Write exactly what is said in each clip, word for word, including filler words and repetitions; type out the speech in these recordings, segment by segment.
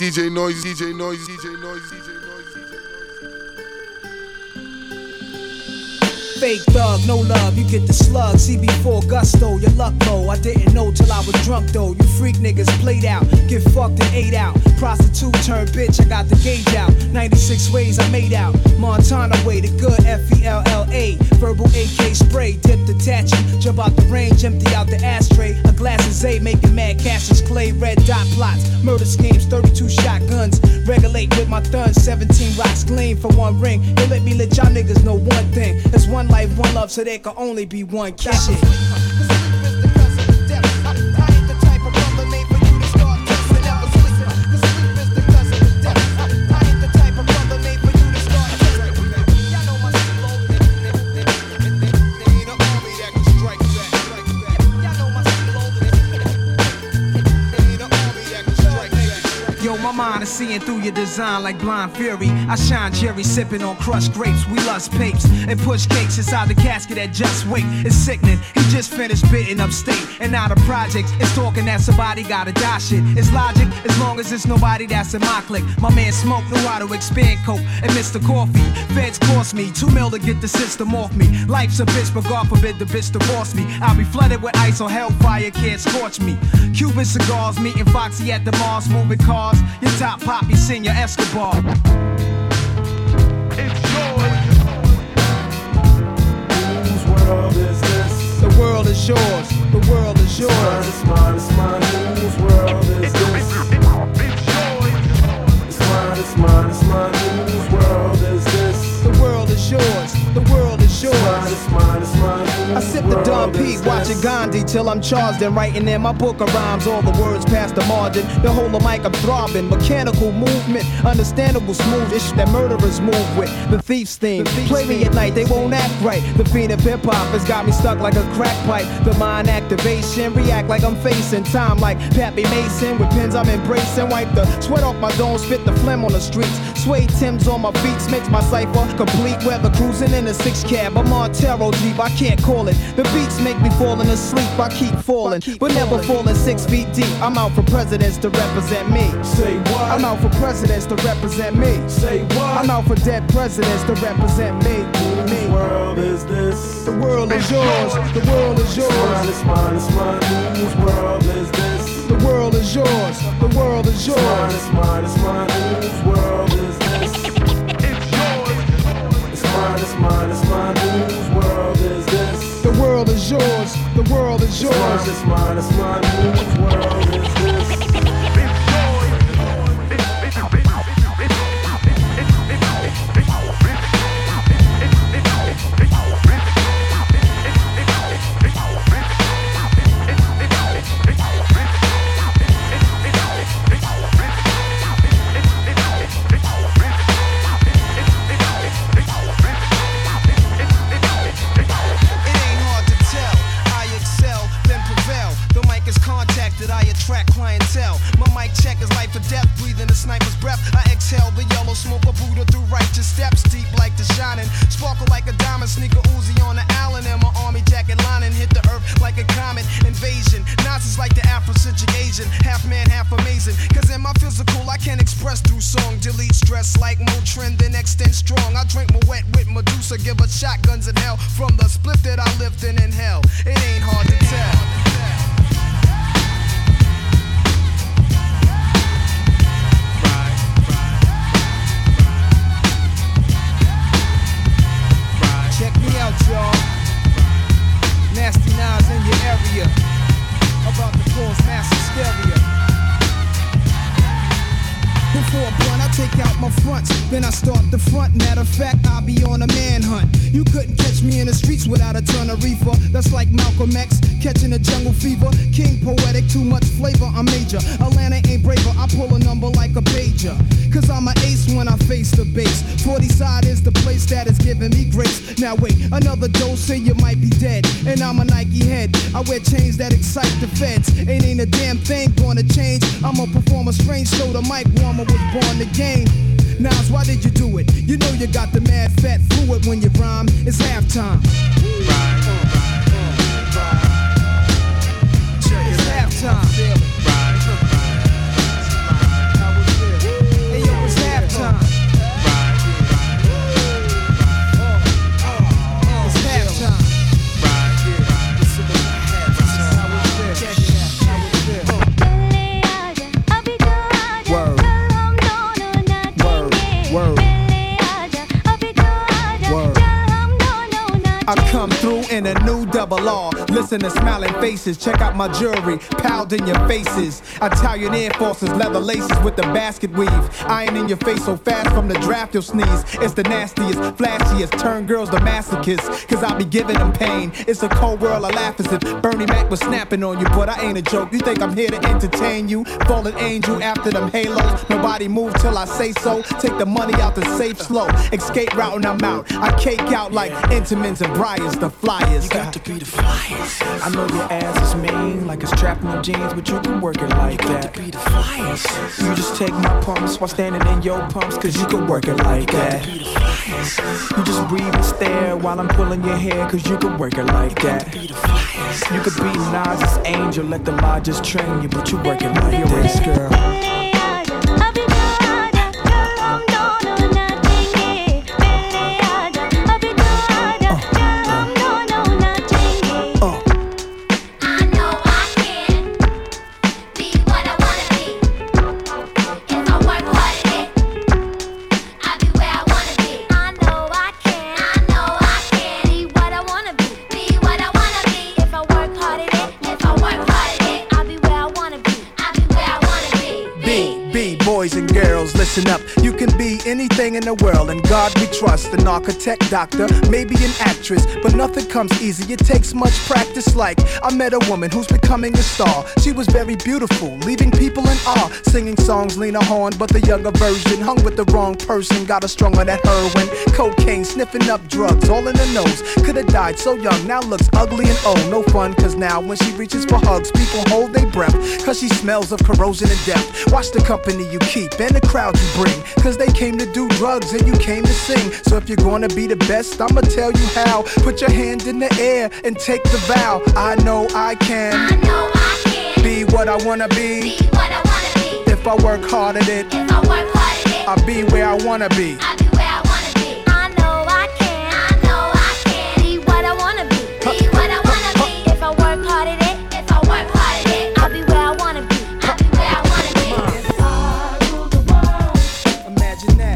D J Noise, D J Noise, D J Noise, D J Noise. Fake thug, no love, you get the slug. C B four gusto, your luck low. I didn't know till I was drunk though. You freak niggas played out, get fucked and ate out. Prostitute turned bitch, I got the gauge out. ninety-six ways I made out. Montana way, the good F E L L A. Verbal A K spray, dip the tattoo. Jump out the range, empty out the ashtray. A glass of Zay, making mad cashes. Clay, red dot plots. Murder schemes, thirty-two shotguns. Regulate with my thuns, seventeen rocks gleam for one ring. They let me let y'all niggas know one thing. It's one life, one love, so there can only be one kid. Mind is seeing through your design like blind fury. I shine Jerry sipping on crushed grapes. We lust papes and push cakes inside the casket that just wait. It's sickening. He just finished bidding upstate and now the projects is talking that somebody gotta die shit. It's logic as long as it's nobody that's in my clique. My man Smoke knew how to expand coke and Mister Coffee. Feds cost me two mil to get the system off me. Life's a bitch, but God forbid the bitch divorce me. I'll be flooded with ice or hellfire can't scorch me. Cuban cigars, meeting Foxy at the Mars, moving cars. Your top poppy, Senior Escobar. It's yours. Whose world is this? The world is yours. The world is yours. It's mine, it's mine, it's mine. Whose world is this? It's yours. It's mine, it's mine, it's mine. Whose world is this? The world is yours. The world is yours. It's mine, it's mine, it's mine. I sip the Dom P, watching Gandhi till I'm charged and writing in my book of rhymes. All the words past the margin. The whole of mic I'm throbbing. Mechanical movement, understandable smooth-ish that murderers move with. The thief's theme. Play me at night, they won't act right. The fiend of hip hop has got me stuck like a crack pipe. The mind activation, react like I'm facing time like Pappy Mason. With pins I'm embracing, wipe the sweat off my dome, spit the phlegm on the streets. Suede Timbs on my beats makes my cipher complete. Weather cruising in a six cab, a Montero Jeep, I can't call it. The beats make me falling asleep, I keep falling, but never falling six feet deep. I'm out for presidents to represent me. Say what? I'm out for presidents to represent me. Say what? I'm out for dead presidents to represent me. Whose world is this? The world is yours. The world is yours. It's mine, it's mine, it's mine. Whose world is this? The world is yours. The world is yours. It's mine, it's mine, it's mine. Whose world is this? It's yours. It's mine, it's mine, it's mine. Whose world is this? The world is yours. The world is yours. It's mine, it's mine, it's mine. Whose world is this? Shotguns in hell from the split that I lived in in hell. It ain't hard to tell. Check me out, y'all. Nasty Nas in your area. About to cause mass hysteria. Before blunt, I take out my fronts, then I start the front. Matter of fact, I'll be on a manhunt. You couldn't catch me in the streets without a ton of reefer. That's like Malcolm X catching a jungle fever. King poetic, too much flavor, I'm major. Atlanta ain't braver, I pull a number like a pager. Cause I'm an ace when I face the base. forty side is the place that is giving me grace. Now wait, another dose and you might be dead. And I'm a Nike head, I wear chains that excite the feds. Ain't ain't a damn thing gonna change. I'ma perform a strange show, the mic warmer was born to game. Nas, why did you do it? You know you got the mad fat fluid when you rhyme. It's halftime. Right, right, right. It's halftime. Right. How was it? bringing a new double R. Listen to smiling faces, check out my jewelry, piled in your faces. Italian Air Forces, leather laces with the basket weave. Iron in your face so fast from the draft you'll sneeze. It's the nastiest, flashiest, turn girls to masochists, cause I be giving them pain. It's a cold world, I laugh as if Bernie Mac was snapping on you, but I ain't a joke. You think I'm here to entertain you? Fallen angel after them halos. Nobody move till I say so. Take the money out the safe slow. Escape route and I'm out. I cake out like Intamins and Briars, the flyers. You got to be the flyers. I know your ass is mean, like it's trapped in your jeans, but you can work it like you that. You got to be the flyers. You just take my pumps while standing in your pumps, cause you can work it like that. You, you just breathe and stare while I'm pulling your hair, cause you can work it like that. You could be Nas's angel, let the law just train you, but you work it like this, girl. Boys and girls, listen up. You can be anything in the world, and God we trust. An architect, doctor, maybe an actress, but nothing comes easy. It takes much practice. Like I met a woman who's becoming a star. She was very beautiful, leaving people in awe. Singing songs, Lena Horne, but the younger version. Hung with the wrong person, got her strung on that heroin, cocaine, sniffing up drugs, all in the nose. Could've died so young, now looks ugly and old. No fun, cause now when she reaches for hugs, people hold their breath, cause she smells of corrosion and death. Watch the company you keep and the crowd you bring, cause they came to do drugs and you came to sing. So if you're gonna be the best, I'ma tell you how. Put your hand in the air and take the vow. I know I can, I know I can be what I wanna be, be what I wanna be. If I work hard at it, If I work hard at it, I'll be where I wanna be. I'll be where I wanna be. I know I can, I know I can be what I wanna be, be what I wanna be. If I work hard at it, if I work hard at it, I'll be where I wanna be, I'll be where I wanna be. If I rule the world, Imagine that.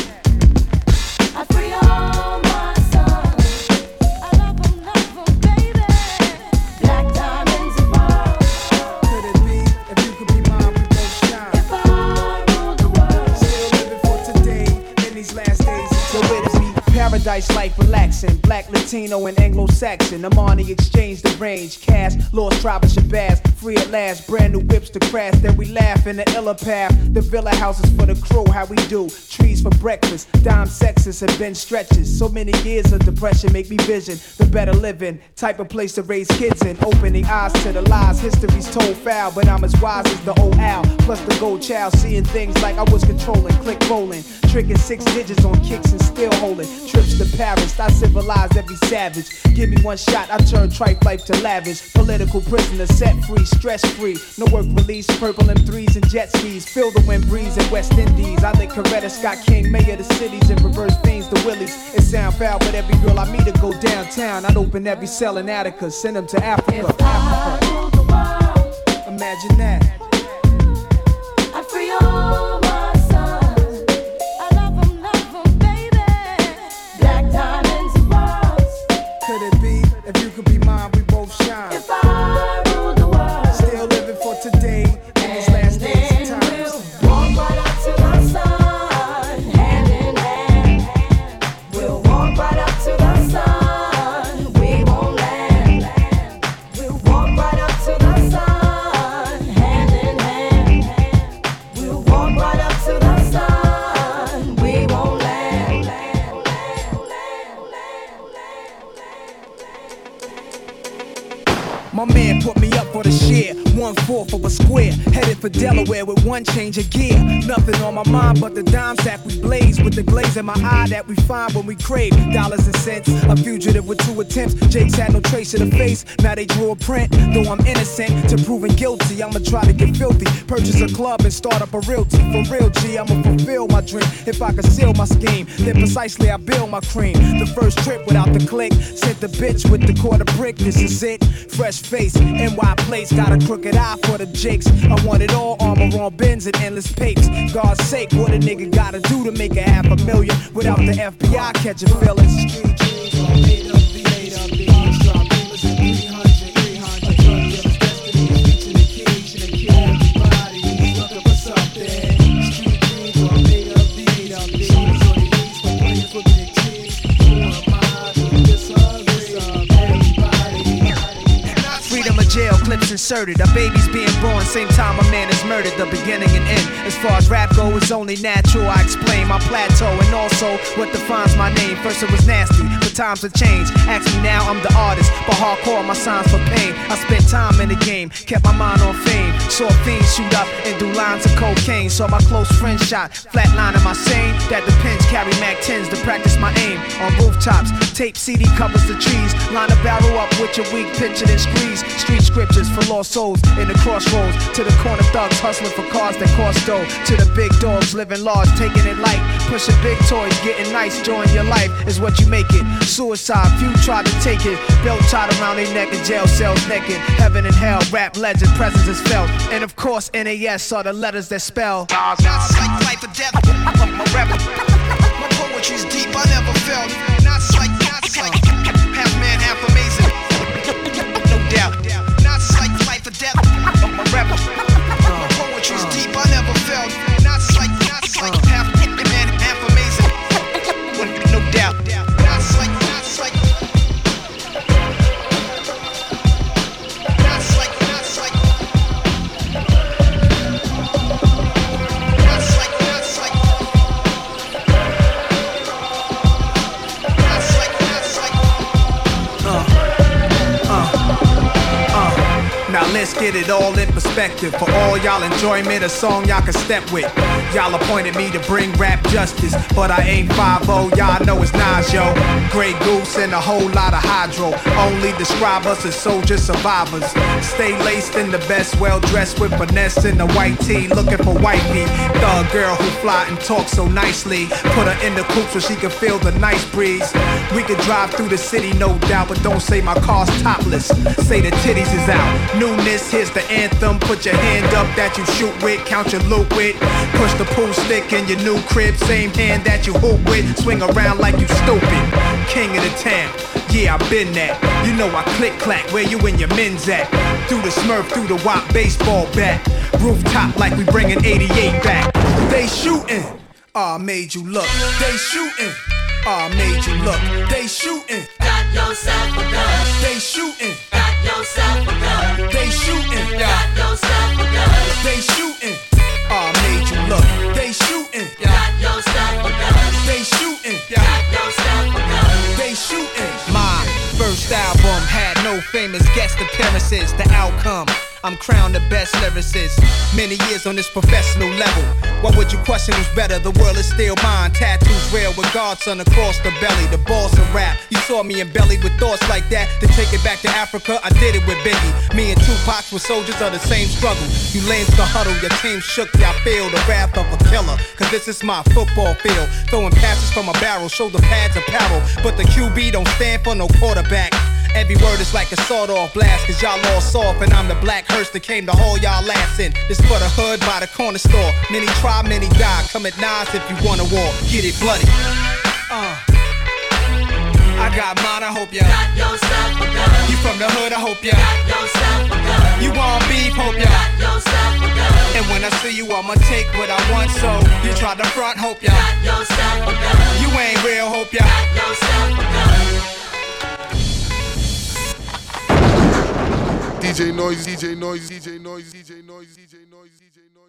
I free all my sons. I love them, love them, baby. Black diamonds and pearls. Could it be, if you could be mine, we both shine. If I rule the world, Still living for today, in these last days. So it be paradise life relaxing. Black, Latino, and Anglo-Saxon. I'm on the exchange, the range. Cash, lost tribe of Shabazz. Free at last, brand new whips to crash. Then we laugh in the iller path. The villa houses for the crew, how we do. Trees for breakfast, dime sexes have been stretches. So many years of depression make me vision the better living. Type of place to raise kids in. Opening eyes to the lies, history's told foul. But I'm as wise as the old owl. Plus the gold child, seeing things like I was controlling. Click rolling, tricking six digits on kicks and still holding. Trips to Paris, I civilized every savage. Give me one shot, I turn tripe life to lavish. Political prisoner set free, stress free. No work release, purple M threes and jet skis. Feel the wind breeze in West Indies. I think Coretta Scott King, mayor of the cities, and reverse fiends the willies. It sound foul, but every girl I meet to go downtown. I'd open every cell in Attica, send them to Africa. if I rule the world, Imagine that. I free all my sons. I love them, love them, baby. Black diamonds and pearls. Could it be, if you could be mine, we both shine. If I rule the world, Still living for today, in these last days and then times. we'll walk right up to the sun, hand in hand. We'll walk right up to the sun. We won't land. We'll walk right up to the sun, hand in hand. We'll walk right up to the sun. We won't land. My man put me up for the share, one fourth of a square, headed for Delaware with one change of gear. Nothing on my mind but the dime sack we blaze, with the glaze in my eye that we find when we crave dollars and cents. A fugitive with two attempts, Jake's had no trace of the face, now they drew a print. Though I'm innocent to proving guilty, I'ma try to get filthy, purchase a club and start up a realty. For real G, I'ma fulfill my dream. If I conceal my scheme, then precisely I build my cream. The first trip without the click, sent the bitch with the quarter brick. This is it, fresh face, N Y place, got a crooked eye for the jakes. I want it all, armor on bins and endless papes. God's sake, what a nigga gotta do to make a half a million without the F B I catching feelings? Street dreams are made up, made up, made up. inserted. A baby's being born, same time a man is murdered. The beginning and end. As far as rap go, it's only natural. I explain my plateau and also what defines my name. First it was nasty, but times have changed. Ask me now, I'm the artist, but hardcore my signs for pain. I spent time in the game, kept my mind on fame. Saw fiends shoot up and do lines of cocaine. Saw my close friend shot, flatline in my sane. That depends, carry Mac tens to practice my aim. On rooftops, tape C D covers the trees. Line a barrel up with your weak picture and squeeze. Street scriptures for lost souls in the crossroads. To the corner thugs hustling for cars that cost dough. To the big dogs living large, taking it light. Pushing big toys, getting nice, join your life is what you make it. Suicide, few tried to take it. Belt tied around their neck in jail cells naked. Heaven and hell, rap legend, presence is felt. And of course, N A S are the letters that spell. Not like life or death, my rap. My poetry's deep, I never felt. Not like, not like half man, half amazing. No doubt. Not like life or death, my rap. My poetry's deep, I never felt. Not like, not like half man, half amazing. No doubt. Not like, not like. Not like, not like. Not like, not like. Not like, not like. Uh, uh, uh. Now let's get it all in perspective. For all y'all enjoyment, a song y'all can step with. Y'all appointed me to bring rap justice, but I ain't five oh, y'all know it's Nas, yo. Grey Goose and a whole lot of hydro. Only describe us as soldier survivors. Stay laced in the best, well dressed with finesse in the white tee, looking for wifey. Thug girl who fly and talk so nicely. Put her in the coupe so she can feel the nice breeze. We could drive through the city, no doubt, but don't say my car's topless. Say the titties is out. Newness, here's the anthem. Put your hand up that you shoot with, count your loot with. Push the pool stick in your new crib, same hand that you hoop with. Swing around like you stupid. King of the town, yeah, I been that. You know I click clack, where you and your men's at? Through the Smurf, through the Wop baseball bat. Rooftop like we bringing eighty-eight back. They shooting, ah, made you look. They shooting, ah, made you look. They shooting, Got yourself a gun. they shooting, Got yourself a gun. they shooting, Got yourself a gun. they shooting, ah, made you look. They shooting, Got yourself a gun. they shooting, Got yourself a gun. they shooting. My first album had no famous guest appearances. The outcome, I'm crowned the best lyricist. Many years on this professional level. What would you question who's better? The world is still mine. Tattoos real with Godson across the belly. The boss of rap. You saw me embellied with thoughts like that. To take it back to Africa, I did it with Biggie. Me and Tupac were soldiers of the same struggle. You lanes the huddle, your team shook. Y'all feel the wrath of a killer. Cause this is my football field. Throwing passes from a barrel, shoulder pads apparel. But the Q B don't stand for no quarterback. Every word is like a sawed-off blast, cause y'all all soft, and I'm the black hearse that came to haul y'all ass in. This for the hood by the corner store. Many try, many die. Come at Nas if you want a war. Get it bloody. Uh. I got mine, I hope ya. Got yourself a gun. You from the hood, I hope ya. Got yourself a gun. You want beef, hope ya. Got yourself a gun. And when I see you, I'ma take what I want, so you try to front, hope ya. Got yourself a gun. You ain't real, hope ya. Got yourself a gun. D J Noise, D J Noise, D J Noise, D J Noise, D J Noise, D J Noise.